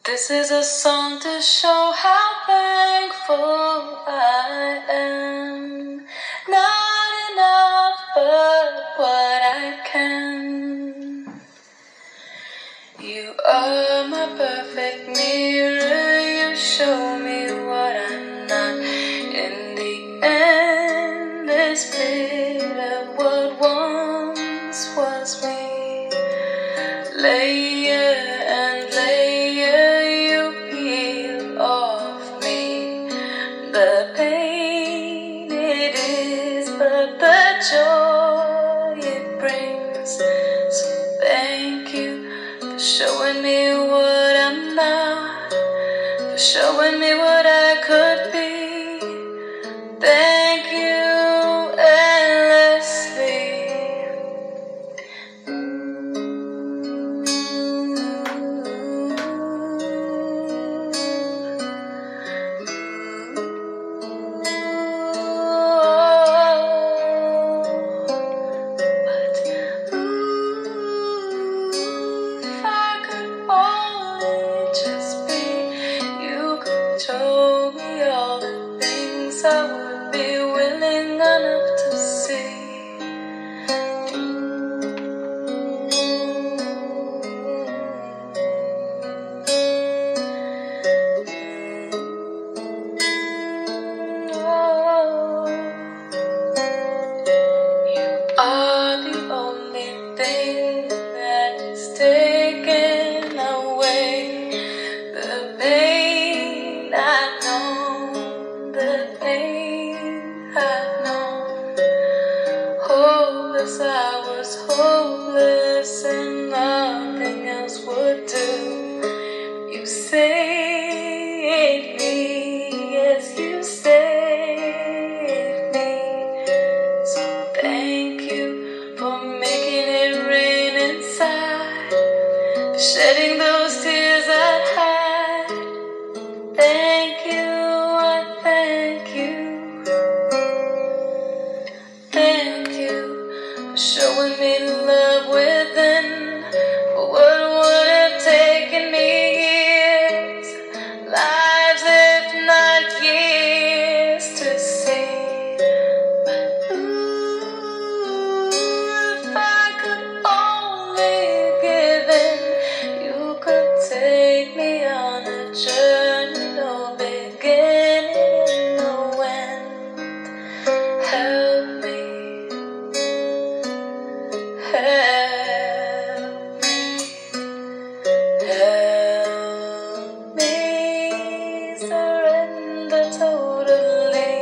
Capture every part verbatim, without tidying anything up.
This is a song to show how thankful I am. Not enough, but what I can. You are my perfect mirror. You show me what I'm not. In the endless bit of what once was me. Layer and layer you peel off me. The pain it is, but the joy it brings. So thank you for showing me what I'm not, for showing me what I could be. Thank you endlessly. Show me all the things I would be willing enough to see. Oh, you are the only thing that is taken away the pain I've known, the pain I've known. Hopeless, I was hopeless, and nothing else would do. You saved me, yes, you saved me. So thank you for making it rain inside, for shedding those tears I had. Thank you, I thank you. Thank you for showing me love within, for what would have taken me years, lives if not years to see. But ooh, if I could only give in, you could take me on a journey, no beginning, no end. Help me, help me, help me surrender totally.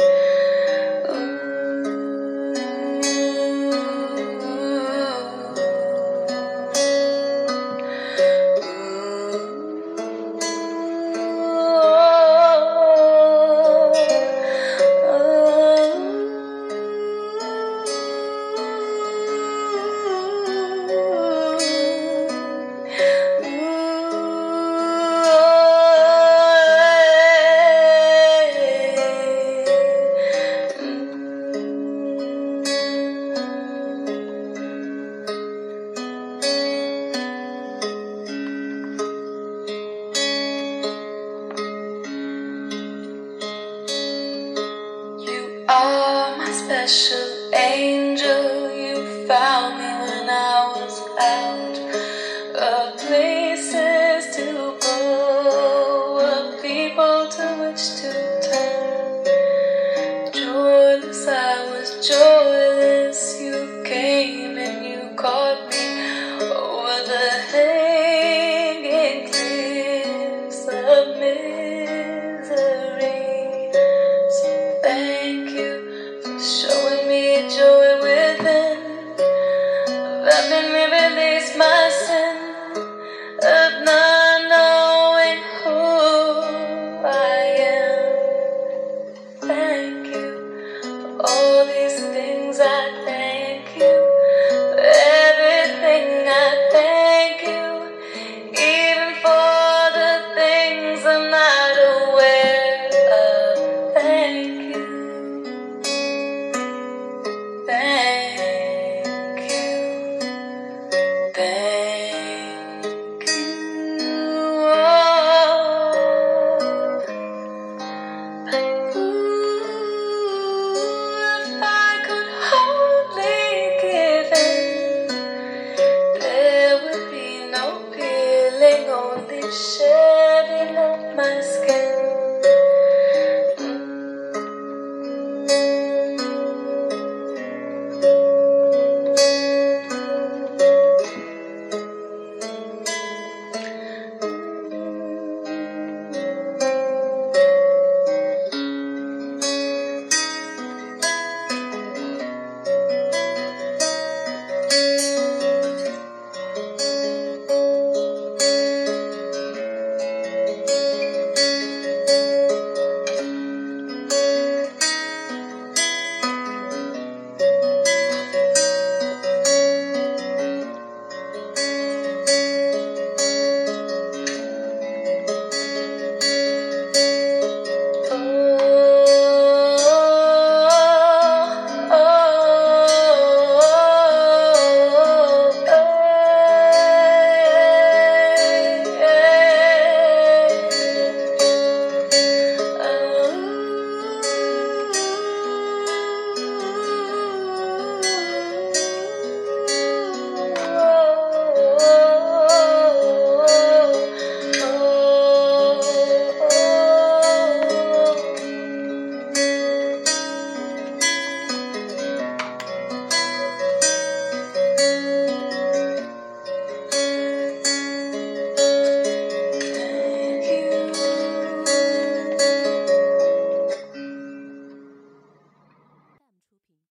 You are my special angel. You found me when I was out of places to go, of people to which to turn. Joyless, I was joyless. You came and you caught me over the hanging cliffs of misery. So thank you for showing me for the shedding of my skin.